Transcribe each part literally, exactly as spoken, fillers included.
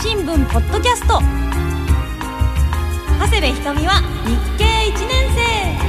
新聞ポッドキャスト。長谷部ひとみは日経いちねん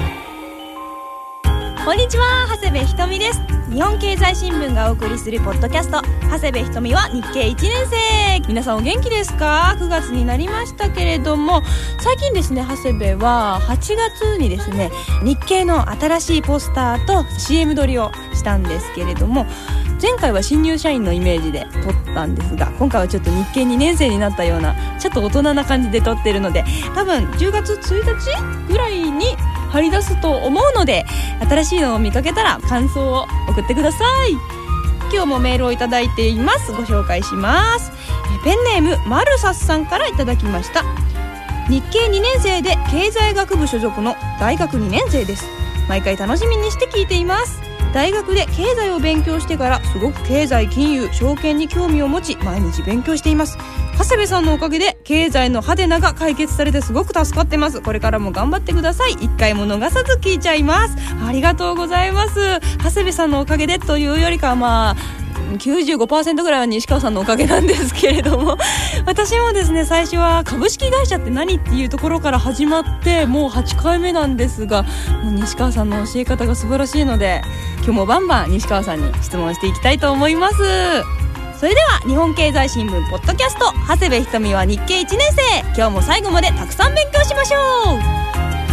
生。こんにちは、長谷部ひとみです。日本経済新聞がお送りするポッドキャスト、長谷部ひとみは日経いちねん生。皆さんお元気ですか？くがつになりましたけれども、最近ですね、長谷部ははちがつにですね、日経の新しいポスターと シーエム 撮りをしたんですけれども、前回は新入社員のイメージで撮ったんですが、今回はちょっと日経にねん生になったようなちょっと大人な感じで撮ってるので、多分じゅうがつついたちぐらいに貼り出すと思うので、新しいのを見かけたら感想を送ってください。今日もメールをいただいています。ご紹介します。ペンネームマルサスさんからいただきました。日経にねん生で経済学部所属の大学にねん生です。毎回楽しみにして聞いています。大学で経済を勉強してからすごく経済、金融、証券に興味を持ち、毎日勉強しています。長谷部さんのおかげで経済のハテナが解決されてすごく助かってます。これからも頑張ってください。一回も逃さず聞いちゃいます。ありがとうございます。長谷部さんのおかげでというよりかは、まあきゅうじゅうごパーセント ぐらいは西川さんのおかげなんですけれども、私もですね、最初は株式会社って何っていうところから始まって、もうはちかいめなんですが、もう西川さんの教え方が素晴らしいので、今日もバンバン西川さんに質問していきたいと思います。それでは日本経済新聞ポッドキャスト、長谷部ひとみは日経いちねん生。今日も最後までたくさん勉強しましょう。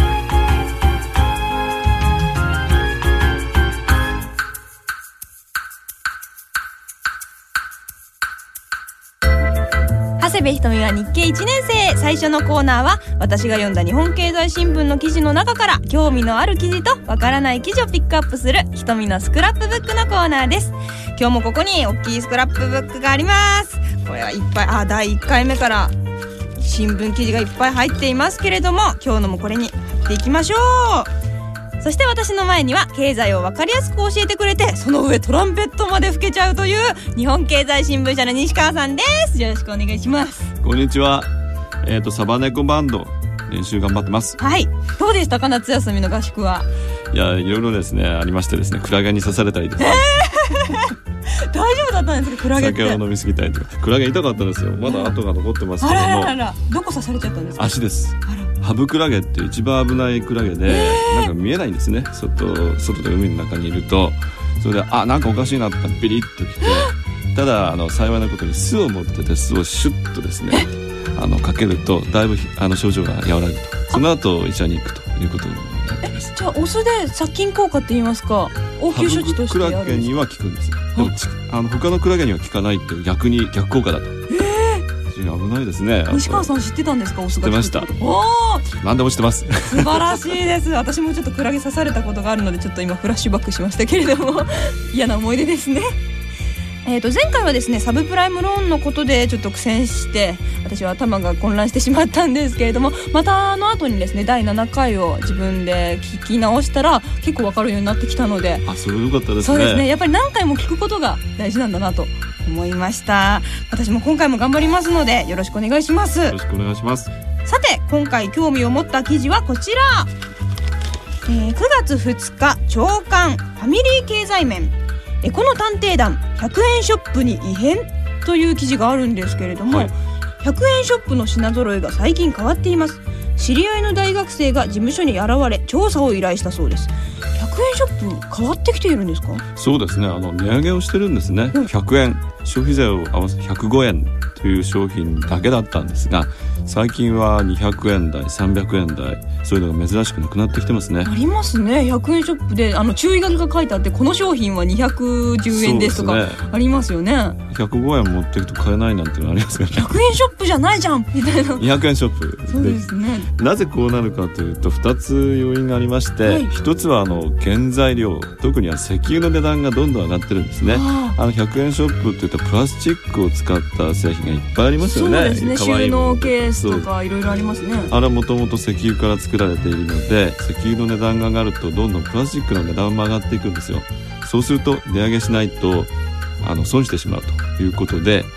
長谷部ひとみは日経いちねん生。最初のコーナーは、私が読んだ日本経済新聞の記事の中から興味のある記事とわからない記事をピックアップするひとみのスクラップブックのコーナーです。今日もここに大きいスクラップブックがあります。これはいっぱい、あ、だいいっかいめから新聞記事がいっぱい入っていますけれども、今日のもこれに貼っていきましょう。そして私の前には経済を分かりやすく教えてくれて、その上トランペットまで吹けちゃうという日本経済新聞社の西川さんです。よろしくお願いします。 こんにちは。えーとサバネコバンド練習頑張ってます。 はい、どうでしたか、夏休みの合宿は？ いや、いろいろですね、ありましてですね、クラゲに刺されたりですね、 えー、大丈夫だったんですか？クラゲって酒を飲みすぎたりとか、クラゲ痛かったんですよ。まだ跡が残ってますけども、 あらららら、どこ刺されちゃったんですか？ 足です。 あら、 ハブクラゲって一番危ないクラゲで、えー、なんか見えないんですね。外、外で海の中にいると、それであ、なんかおかしいなってビリッときて、ただあの幸いなことに巣を持ってて、巣をシュッとですね、あのかけるとだいぶあの症状が和らぐと。その後医者に行くということになっています。 じゃあお酢で殺菌効果って言いますか、応急処置としてやるんですか？ ハブクラゲには効くんです。でもあの他のクラゲには効かないっていう、逆に逆効果だと。危ないですね。 西川さん知ってたんですか？お酢が知ってました。 おー、何でも知ってます。 素晴らしいです。私もちょっとクラゲ刺されたことがあるので、ちょっと今フラッシュバックしましたけれども嫌な思い出ですね。えーと前回はですね、サブプライムローンのことでちょっと苦戦して、私は頭が混乱してしまったんですけれども、またあの後にですね、だいななかいを自分で聞き直したら結構分かるようになってきたので、 あ、それ良かったですね。 そうですね、やっぱり何回も聞くことが大事なんだなと思いました。私も今回も頑張りますのでよろしくお願いします。よろしくお願いします。 さて、今回興味を持った記事はこちら、えー、くがつふつか朝刊ファミリー経済面、エコの探偵団ひゃくえんショップに異変という記事があるんですけれども、はい、ひゃくえんショップの品揃えが最近変わっています。知り合いの大学生が事務所に現れ調査を依頼したそうです。ひゃくえんショップ変わってきているんですか？ そうですね、あの値上げをしてるんですね、うん、ひゃくえん、消費税を合わせてひゃくごえんという商品だけだったんですが、最近はにひゃくえん台、さんびゃくえん台、そういうのが珍しくなくなってきてますね。 ありますね。ひゃくえんショップであの注意書きが書いてあって、この商品はにひゃくじゅうえんですとかありますよね。 ひゃくごえん持っていくと買えないなんてのありますからね。 ひゃくえんショップじゃないじゃんみたいな。 にひゃくえんショップで、 そうですね。 なぜこうなるかというと、ふたつ要因がありまして、はい、ひとつはあの原材料、特には石油の値段がどんどん上がってるんですね。ああのひゃくえんショップっていったらプラスチックを使った製品がいっぱいありますよね。 そうですね、収納ケースとかいろいろありますね。 あれはもともと石油から作られているので、石油の値段が上がるとどんどんプラスチックの値段も上がっていくんですよ。そうすると値上げしないとあの損してしまうということで、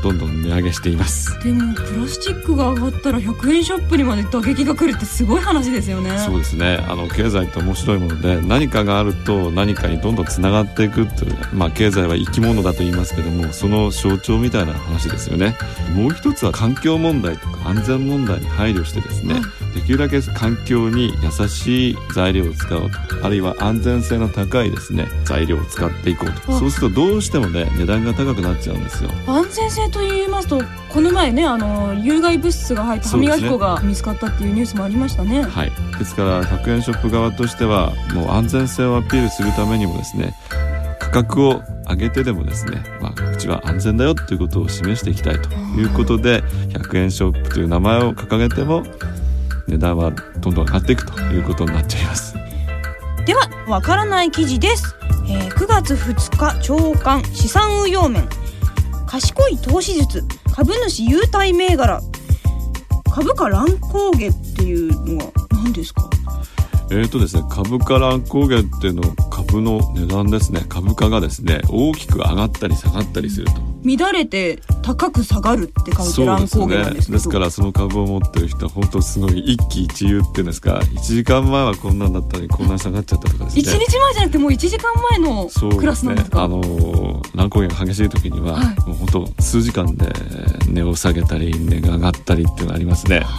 どんどん値上げしています。 でもプラスチックが上がったらひゃくえんショップにまで打撃が来るってすごい話ですよね。 そうですね、あの経済って面白いもので、何かがあると何かにどんどんつながっていくという、まあ、経済は生き物だと言いますけども、その象徴みたいな話ですよね。もう一つは環境問題とか安全問題に配慮してですね、できるだけ環境に優しい材料を使おうと、あるいは安全性の高いですね材料を使っていこうと。そうするとどうしてもね値段が高くなっちゃうんですよ。 安全性と言いますと、この前ね、あの有害物質が入った歯磨き粉が見つかったっていうニュースもありましたね。 はい、ですからひゃくえんショップ側としてはもう安全性をアピールするためにもですね、価格を上げてでもですね、まあ、うちは安全だよということを示していきたいということで、ひゃくえんショップという名前を掲げても値段はどんどん上がっていくということになっちゃいます。 ではわからない記事です、えー、くがつふつか朝刊資産運用面、賢い投資術、株主優待銘柄、株価乱高下っていうのは何ですか？ えーとですね、株価乱高下っていうのは株の値段ですね。株価がですね大きく上がったり下がったりすると、 乱れて高く下がるって書いて乱高下なんですけど、 そうですね、ですからその株を持ってる人は本当すごい一喜一憂っていうんですか、いちじかんまえはこんなんだったのにこんなに下がっちゃったとかですね。 いちにちまえじゃなくてもういちじかんまえのクラスなんですか？ そうですね、あの乱高下が激しい時には、はい、もう本当数時間で値を下げたり値が上がったりっていうのがありますね。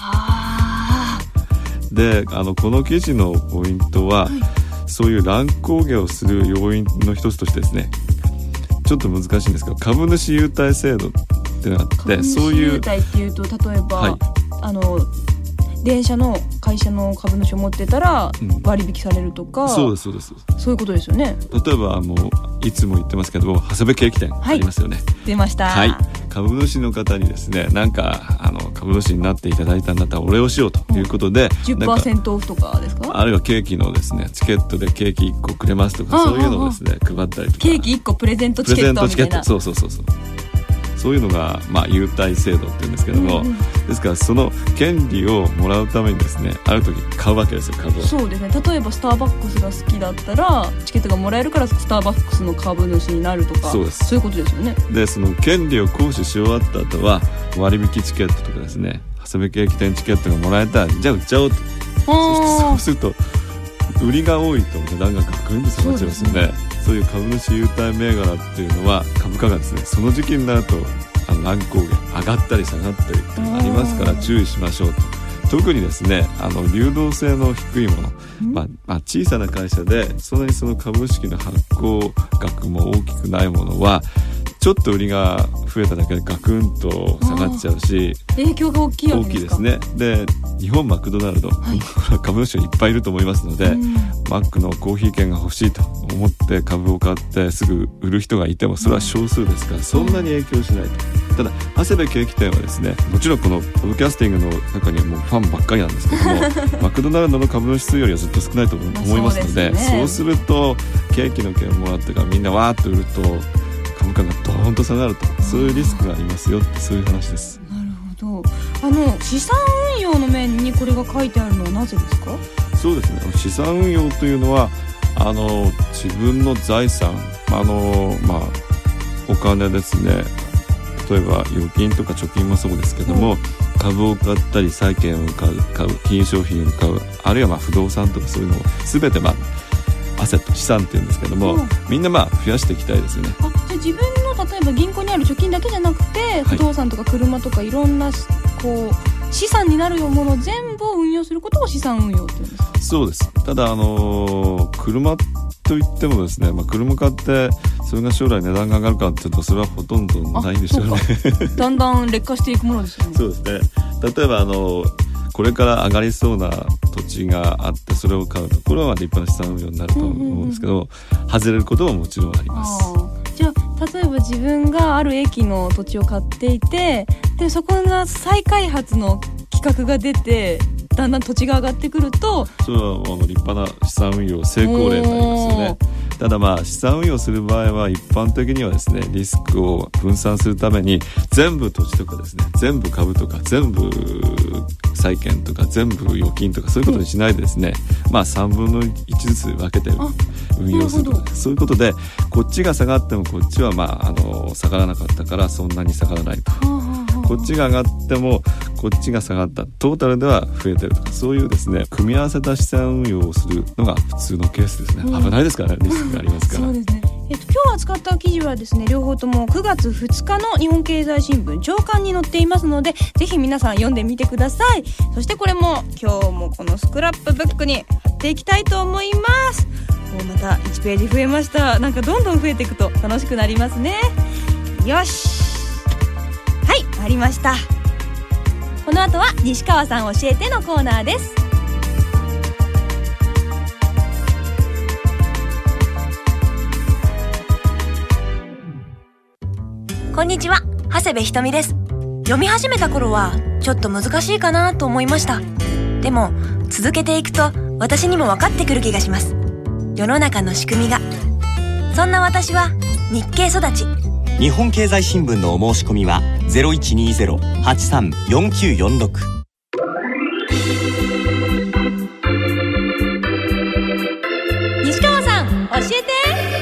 で、あのこの記事のポイントは、はい、そういう乱高下をする要因の一つとしてですね、ちょっと難しいんですけど、株主優待制度っていうのがあって、そういう株主優待っていうと、例えば、はい、あの電車の会社の株主を持ってたら割引されるとか、うん、 そうですそうです、 そういうことですよね。 例えばもういつも言ってますけども、長谷部ケーキ店ありますよね。はい、 出ました。 はい、株主の方にですね、なんかあの株主になっていただいたんだったらお礼をしようということで、うん、 じゅっパーセント オフとかですか？ あるいはケーキのですねチケットでケーキいっこくれますとか、そういうのをですね配ったりとか、 ケーキいっこプレゼントチケットみたいな、 そうそうそうそう、そういうのが、まあ、優待制度っていうんですけども、うんうん、ですからその権利をもらうためにですね、ある時買うわけですよ、株を。 そうですね、例えばスターバックスが好きだったらチケットがもらえるからスターバックスの株主になるとか、 そうです、 そういうことですよね。 でその権利を行使し終わった後は割引チケットとかですね、長谷部ケーキ店チケットがもらえたらじゃあ売っちゃおうと。そうすると売りが多いと値段がガクンと下がっちゃいますよね。そうですね、そういう株主優待銘柄っていうのは株価がですねその時期になるとあの乱高下上がったり下がったりっていうのがありますから注意しましょうと。特にですね、あの流動性の低いもの、まあまあ、小さな会社でそんなにその株式の発行額も大きくないものはちょっと売りが増えただけでガクンと下がっちゃうし、 影響が大きいわけですか？ 大きいですね。で日本マクドナルド、はい、株主がいっぱいいると思いますので、うん、マックのコーヒー券が欲しいと思って株を買ってすぐ売る人がいてもそれは少数ですから、うん、そんなに影響しないと。ただ長谷部ケーキ店はですね、もちろんこのポッドキャスティングの中にはもうファンばっかりなんですけどもマクドナルドの株主数よりはずっと少ないと思いますので、まあ そうですね、そうするとケーキの券をもらってからみんなわーっと売ると株価がドーンと下がると、そういうリスクがありますよって、そういう話です。 なるほど。あの資産運用の面にこれが書いてあるのはなぜですか？ そうですね、資産運用というのはあの自分の財産、あの、まあ、お金ですね、例えば預金とか貯金もそうですけども、うん、株を買ったり債券を買う、買う金融商品を買う、あるいはまあ不動産とかそういうのを全てまあアセット、資産っていうんですけども、うん、みんなまあ増やしていきたいですよね。 あ、じゃあ自分の例えば銀行にある貯金だけじゃなくて不動産とか車とかいろんなこう資産になるようなものを全部運用することを資産運用っていうんですか？ そうです。ただあのー、車といってもですね、まあ、車買ってそれが将来値段が上がるかっていうとそれはほとんどないんでしょうね。 だんだん劣化していくものですよね。 そうですね。例えばあのこれから上がりそうな土地があってそれを買うと、これは立派な資産運用になると思うんですけど、うんうんうん、外れることももちろんあります。 あ、じゃあ例えば自分がある駅の土地を買っていて、でそこが再開発の企画が出てだんだん土地が上がってくると、 それはあの立派な資産運用成功例になりますよね。 ただまあ資産運用する場合は一般的にはですね、リスクを分散するために全部土地とかですね、全部株とか全部債券とか全部預金とかそういうことにしないでですね、まあさんぶんのいちずつ分けて運用するとか、そういうことでこっちが下がってもこっちはまああの下がらなかったからそんなに下がらないと、こっちが上がってもこっちが下がった、トータルでは増えてるとか、そういうですね組み合わせた資産運用をするのが普通のケースですね、うん、危ないですからね、リスクがありますからそうですね。 えっと、今日扱った記事はですね、両方ともくがつふつかの日本経済新聞朝刊に載っていますので、ぜひ皆さん読んでみてください。そしてこれも今日もこのスクラップブックに貼っていきたいと思います。もうまたいちページ増えました。なんかどんどん増えていくと楽しくなりますね。よし、はい、ありました。この後は西川さん教えてのコーナーです。 こんにちは、長谷部ひとみです。読み始めた頃はちょっと難しいかなと思いました。でも続けていくと私にも分かってくる気がします。世の中の仕組みが。そんな私は日経育ち。 日本経済新聞のお申し込みは ゼロいちにゼロ はちさん よんきゅうよんろく。 西川さん教えて。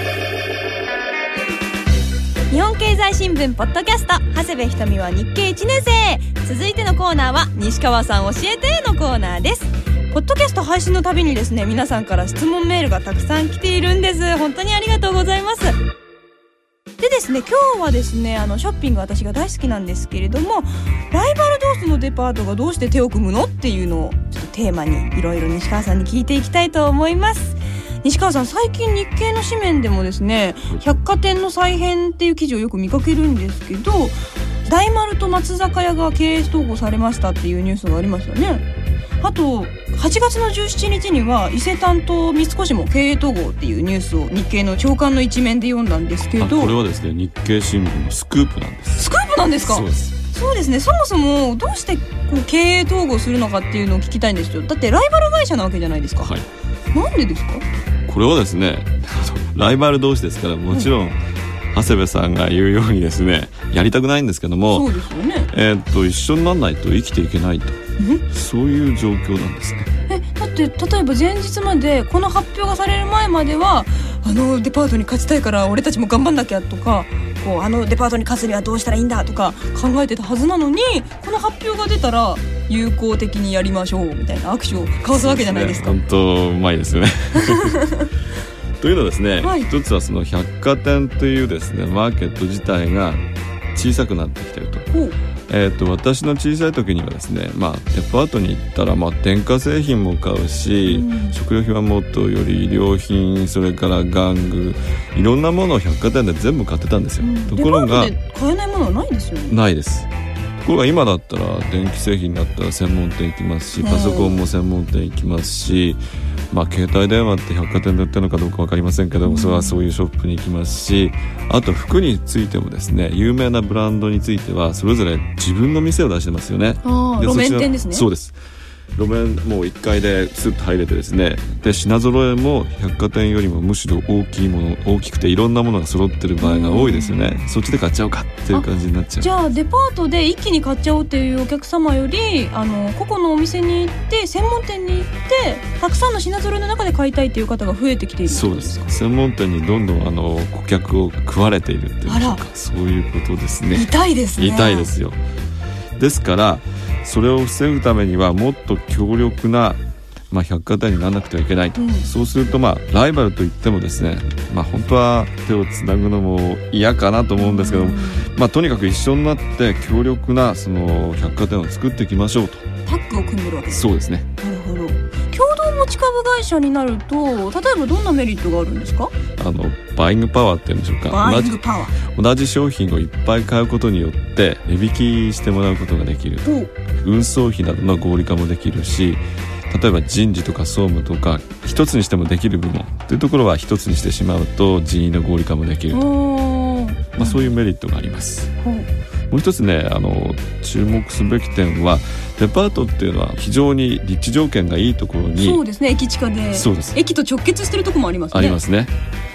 日本経済新聞ポッドキャスト、長谷部ひとみは日経いちねん生。続いてのコーナーは西川さん教えてのコーナーです。ポッドキャスト配信のたびにですね、皆さんから質問メールがたくさん来ているんです。本当にありがとうございます。でですね、今日はですね、あのショッピング私が大好きなんですけれども、ライバル同士のデパートがどうして手を組むのっていうのをちょっとテーマにいろいろ西川さんに聞いていきたいと思います。西川さん、最近日経の紙面でもですね、百貨店の再編っていう記事をよく見かけるんですけど、大丸と松坂屋が経営統合されましたっていうニュースがありましたね。あとはちがつのじゅうしちにちには伊勢丹と三越も経営統合っていうニュースを日経の朝刊の一面で読んだんですけど、 これはですね、日経新聞のスクープなんです。 スクープなんですか？ そうです。 そうですね。そもそもどうしてこう経営統合するのかっていうのを聞きたいんですよ。だってライバル会社なわけじゃないですか。はい。なんでですか？ これはですね、ライバル同士ですから、もちろん、うん、長谷部さんが言うようにですね、やりたくないんですけども、 そうですよね。 えー、っと一緒にならないと生きていけないと、そういう状況なんですね。 え、だって例えば前日まで、この発表がされる前までは、あのデパートに勝ちたいから俺たちも頑張んなきゃとか、こうあのデパートに勝つにはどうしたらいいんだとか考えてたはずなのに、この発表が出たら友好的にやりましょうみたいな握手を交わすわけじゃないですか。 本当うまいですよね。というのはですね、 はい、 一つはその百貨店というですねマーケット自体が小さくなってきていると。えー、と私の小さい時にはですね、まあ、デパートに行ったら、まあ、電化製品も買うし、うん、食料品はもっとより衣料品、それから玩具、いろんなものを百貨店で全部買ってたんですよ、うん、ところがデパートで買えないものはないですよね。 ないです。ところが今だったら電気製品だったら専門店行きますし、パソコンも専門店行きますし、まあ、携帯電話って百貨店で売ってるのかどうか分かりませんけども、それはそういうショップに行きますし、あと服についてもですね、有名なブランドについてはそれぞれ自分の店を出してますよね。 あ、路面店ですね。 そうです。路面もういっかいでスッと入れてですね、で品揃えも百貨店よりもむしろ大きいもの、大きくていろんなものが揃ってる場合が多いですよね。そっちで買っちゃおうかっていう感じになっちゃう。 じゃあデパートで一気に買っちゃおうっていうお客様より、あの個々のお店に行って専門店に行ってたくさんの品揃えの中で買いたいっていう方が増えてきている。 そうです。専門店にどんどんあの顧客を食われているっていうか、そういうことですね。 痛いですね。 痛いですよ。ですからそれを防ぐためにはもっと強力な、まあ、百貨店にならなくてはいけないと、うん、そうすると、まあ、ライバルといってもですね、まあ、本当は手をつなぐのも嫌かなと思うんですけども、うん、まあ、とにかく一緒になって強力なその百貨店を作っていきましょうと。 タッグを組んでるわけですか。 そうですね。 なるほど。共同持ち株会社になると例えばどんなメリットがあるんですか？ あのバイングパワーっていうんでしょうか。 バイングパワー。同じ商品をいっぱい買うことによって値引きしてもらうことができる。運送費などの合理化もできるし、例えば人事とか総務とか一つにしてもできる部門というところは一つにしてしまうと人員の合理化もできると、まあ、そういうメリットがあります。もう一つね、あの注目すべき点はデパートっていうのは非常に立地条件がいいところに。 そうですね。駅近で。 そうです。 駅と直結してるところもありますね。 ありますね。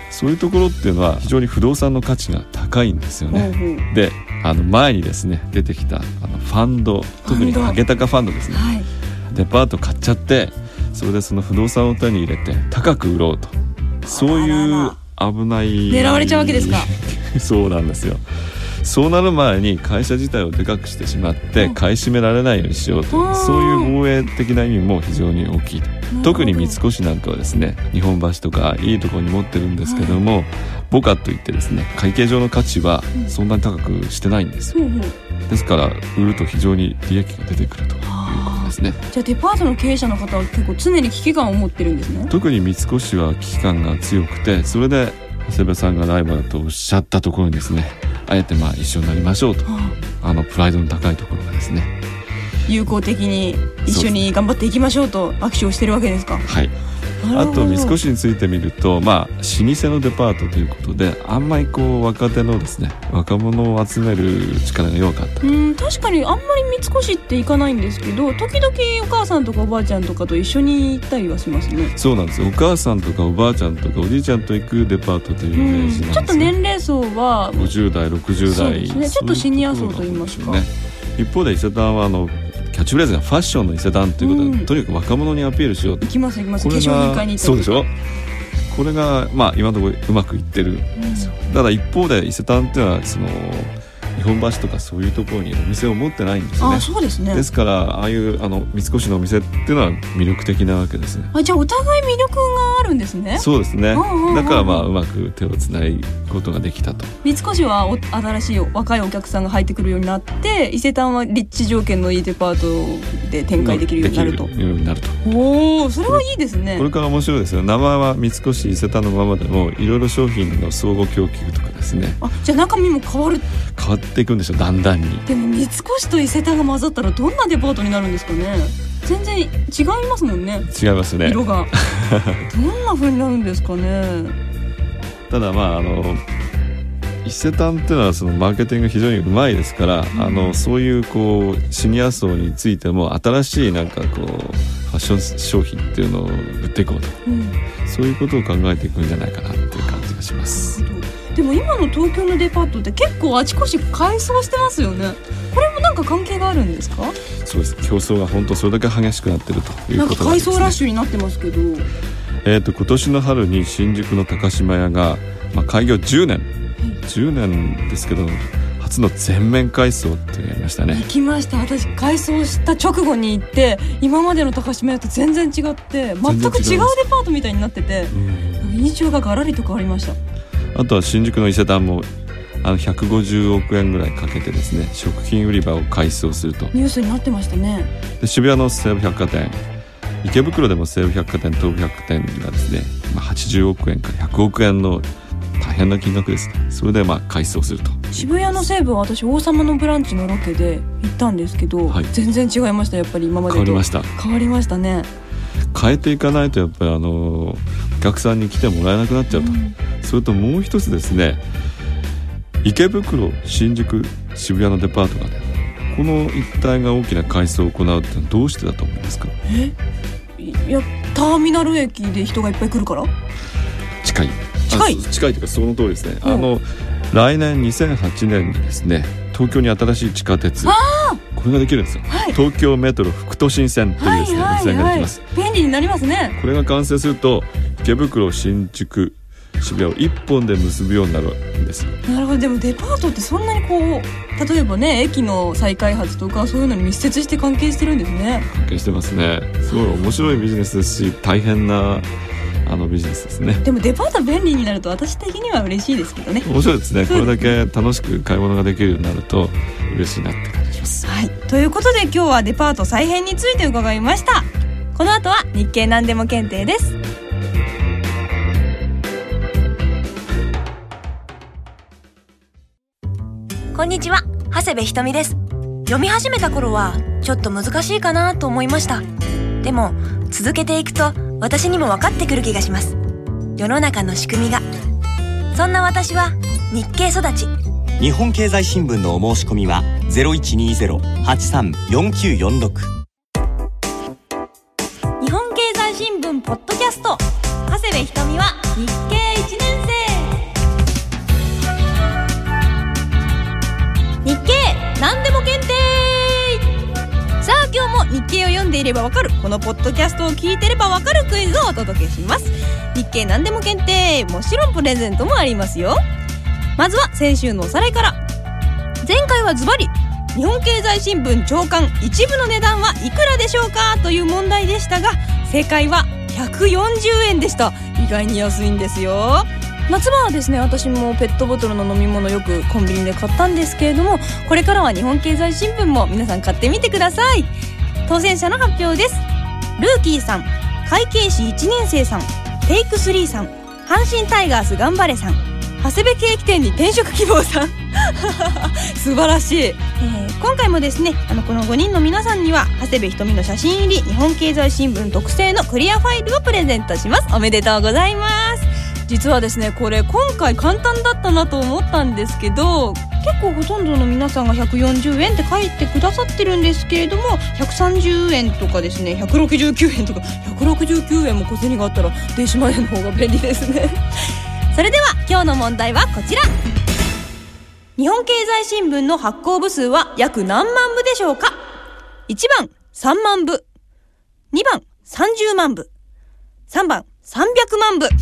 そういうところっていうのは非常に不動産の価値が高いんですよね。うんうん、であの前にですね出てきたあのファンド、特にハゲタカファンドですね、はい、デパート買っちゃってそれでその不動産を手に入れて高く売ろうと、そういう危ない狙われちゃうわけですか。 そうなんですよ。そうなる前に会社自体をでかくしてしまって買い占められないようにしようという、そういう防衛的な意味も非常に大きいと。特に三越なんかはですね、日本橋とかいいところに持ってるんですけども、ボカといってですね、会計上の価値はそんなに高くしてないんですよ。ですから売ると非常に利益が出てくるということですね。 じゃあデパートの経営者の方は結構常に危機感を持ってるんですね。 特に三越は危機感が強くて、それで長谷部さんがライバルとおっしゃったところにですね、あえてまあ一緒になりましょうと、はあ、あのプライドの高いところがですね、 友好的に一緒に頑張っていきましょうと握手をしてるわけですか。 はい。あと三越についてみると、まあ、老舗のデパートということであんまりこう若手のですね若者を集める力が弱かった。 うん、確かにあんまり三越って行かないんですけど、時々お母さんとかおばあちゃんとかと一緒に行ったりはしますね。 そうなんですよ。お母さんとかおばあちゃんとかおじいちゃんと行くデパートというイメージなんです、ね、 ちょっと年齢層はごじゅう代ろくじゅう代、そうですね、 ちょっとシニア層といいますか、ね、 一方で伊勢丹はあのキャッチフレーズがファッションの伊勢丹ということで、うん、とにかく若者にアピールしようと。 行きます行きます。化粧品買いに行った。 そうでしょ。これがまあ今のところうまくいってるんですよ、うん、ただ一方で伊勢丹っていうのはその日本橋とかそういうところにお店を持ってないんですよね。 あ、そうですね。 ですからああいうあの三越のお店っていうのは魅力的なわけですね。 あ、じゃあお互い魅力があるんですね。 そうですね。だからまあうまく手をつないことができたと。 三越はお新しい若いお客さんが入ってくるようになって、伊勢丹は立地条件のいいデパートで展開できるようになると。 できるようになると。 おお、それはいいですね。 これから面白いですよ。名前は三越伊勢丹のままでもいろいろ商品の相互供給とかですね。 あ、じゃあ中身も変わる。 変わっていくんでしょう、だんだんに。 でも三越と伊勢丹が混ざったらどんなデパートになるんですかね。全然違いますもんね。 違いますね、 色がどんな風になるんですかね。 ただまああの伊勢丹っていうのはそのマーケティングが非常にうまいですから、うん、あのそういうこうシニア層についても新しいなんかこうファッション商品っていうのを売っていこうと、うん、そういうことを考えていくんじゃないかなっていう感じがします。 でも今の東京のデパートって結構あちこち改装してますよね。これもなんか関係があるんですか。 そうです。競争が本当それだけ激しくなってるということなんですね。なんか改装ラッシュになってますけど、 えーと今年の春に新宿の高島屋が、まあ、開業じゅうねん、はい、じゅうねんですけど初の全面改装ってやりましたね。 行きました。私改装した直後に行って今までの高島屋と全然違って全く違うデパートみたいになってて、うん、印象がガラリと変わりました。 あとは新宿の伊勢丹もあのひゃくごじゅうおくえんぐらいかけてですね食品売り場を改装するとニュースになってましたね。 で渋谷の西武百貨店、池袋でも西武百貨店東武百貨店がですね、まあ、はちじゅうおくえんからひゃくおくえんの大変な金額ですね。それでまあ改装すると。 渋谷の西武は私王様のブランチのロケで行ったんですけど、はい、全然違いました。やっぱり今までと変わりました。 変わりましたね。 変えていかないとやっぱりあのお客さんに来てもらえなくなっちゃうと、うん、それともう一つですね、池袋、新宿、渋谷のデパートがねこの一帯が大きな改装を行うってのはどうしてだと思いますか。 えいやターミナル駅で人がいっぱい来るから。 近い近い近いというかその通りですね、うん、あの来年にせんはちねんにですね東京に新しい地下鉄これができるんですよ、はい、東京メトロ副都心線というですね、はいはいはい、路線ができます。 便利になりますね。 これが完成すると池袋、新宿、渋谷を一本で結ぶようになるんですよ。 なるほど。でもデパートってそんなにこう例えばね駅の再開発とかそういうのに密接して関係してるんですね。 関係してますね。すごい面白いビジネスですし大変なあのビジネスですね。 でもデパート便利になると私的には嬉しいですけどね。 面白いですね。これだけ楽しく買い物ができるようになると嬉しいなって感じします。 はい、ということで今日はデパート再編について伺いました。この後は日経何でも検定です。 こんにちは、長谷部ひとみです。読み始めた頃はちょっと難しいかなと思いました。でも続けていくと私にも分かってくる気がします。世の中の仕組みが。そんな私は日経育ち。 日本経済新聞のお申し込みは ゼロいちにゼロ はちさん よんきゅうよんろく。 日本経済新聞ポッドキャスト、長谷部ひとみは日経いちねん生。 ればわかるこのポッドキャストを聞いてればわかるクイズをお届けします。日経何でも検定、もちろんプレゼントもありますよ。まずは先週のおさらいから。前回はズバリ日本経済新聞朝刊一部の値段はいくらでしょうかという問題でしたが、正解はひゃくよんじゅうえんでした。意外に安いんですよ。夏場はですね、私もペットボトルの飲み物よくコンビニで買ったんですけれども、これからは日本経済新聞も皆さん買ってみてください。当選者の発表です。ルーキーさん、会計士いちねん生さん、テイクスリーさん、阪神タイガース頑張れさん、長谷部ケーキ店に転職希望さん素晴らしい、えー、今回もですね、あのこのごにんの皆さんには長谷部ひとみの写真入り日本経済新聞特製のクリアファイルをプレゼントします。おめでとうございます。実はですね、これ今回簡単だったなと思ったんですけど、結構ほとんどの皆さんがひゃくよんじゅうえんって書いてくださってるんですけれども、ひゃくさんじゅうえんとかですね、ひゃくろくじゅうきゅうえんとか、ひゃくろくじゅうきゅうえんも小銭があったら電子マネーの方が便利ですねそれでは今日の問題はこちら。日本経済新聞の発行部数は約何万部でしょうか。いちばんさんまんぶ、にばんさんじゅうまんぶ、さんばんさんびゃくまんぶ。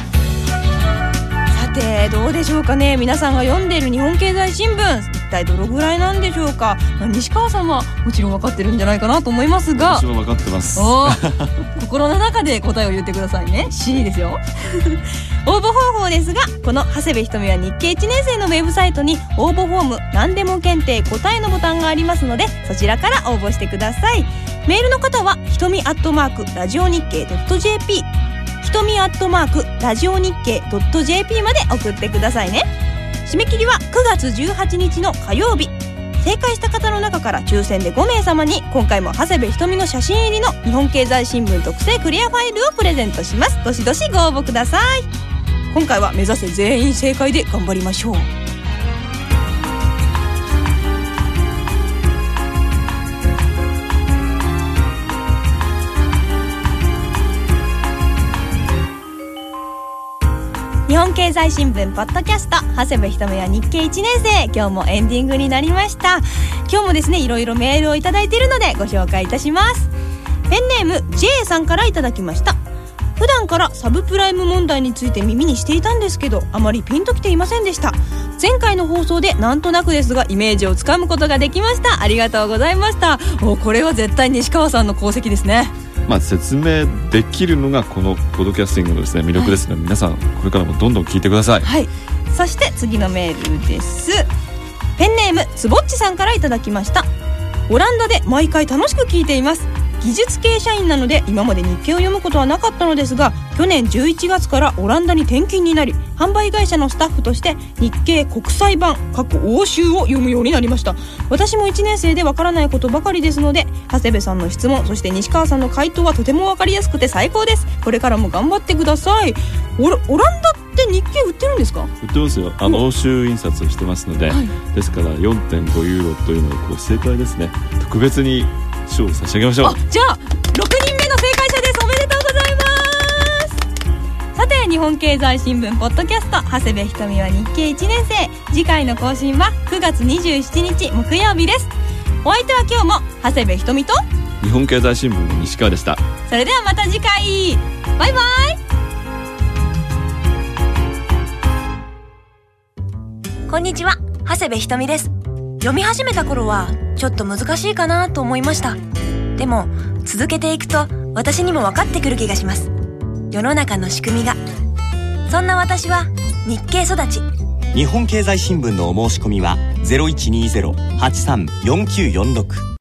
さてどうでしょうかね。皆さんが読んでいる日本経済新聞、一体どのぐらいなんでしょうか。まあ、西川さんはもちろん分かってるんじゃないかなと思いますが、 私も分かってます。 お心の中で答えを言ってくださいね。 C ですよ応募方法ですが、この長谷部ひとみは日経いちねん生のウェブサイトに応募フォーム何でも検定答えのボタンがありますので、そちらから応募してください。メールの方はひとみアットマークラジオ日経 .jp、 ひとみアットマークラジオ日経 .jp まで送ってくださいね。締め切りはくがつじゅうはちにちの火曜日。正解した方の中から抽選でごめいさまに今回も長谷部ひとみの写真入りの日本経済新聞特製クリアファイルをプレゼントします。どしどしご応募ください。今回は目指せ全員正解で頑張りましょう。日本経済新聞ポッドキャスト、長谷部ひとみは日経いちねん生、今日もエンディングになりました。今日もですね、いろいろメールをいただいているのでご紹介いたします。ペンネーム J さんからいただきました。普段からサブプライム問題について耳にしていたんですけど、あまりピンときていませんでした。前回の放送でなんとなくですがイメージをつかむことができました。ありがとうございました。お、これは絶対西川さんの功績ですね。 まあ、説明できるのがこのポッドキャスティングのですね、魅力ですので、はい、皆さんこれからもどんどん聞いてください。 はい。そして次のメールです。ペンネームつぼっちさんからいただきました。オランダで毎回楽しく聞いています。技術系社員なので今まで日経を読むことはなかったのですが、去年じゅういちがつからオランダに転勤になり、販売会社のスタッフとして日経国際版過去欧州を読むようになりました。私もいちねん生でわからないことばかりですので、長谷部さんの質問、そして西川さんの回答はとてもわかりやすくて最高です。これからも頑張ってください。オラ、オランダって日経売ってるんですか？ 売ってますよ。あの欧州印刷をしてますので、はい、ですから よんてんごユーロというのがこう正解ですね。特別に賞を差し上げましょう。あ、 じゃあろくにんめの正解者です。おめでとうございます。さて、日本経済新聞ポッドキャスト、長谷部ひとみは日経いちねん生、次回の更新はくがつにじゅうしちにち木曜日です。お相手は今日も長谷部ひとみと日本経済新聞の西川でした。 それではまた次回、バイバイ。 こんにちは、長谷部ひとみです。読み始めた頃はちょっと難しいかなと思いました。でも続けていくと私にも分かってくる気がします。世の中の仕組みが。そんな私は日経育ち。 日本経済新聞のお申し込みはゼロいちにゼロ はちさん よんきゅうよんろく